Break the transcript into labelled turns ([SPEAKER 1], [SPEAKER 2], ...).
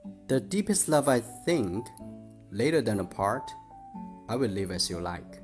[SPEAKER 1] The deepest love I think, later than apart, I will live as you like.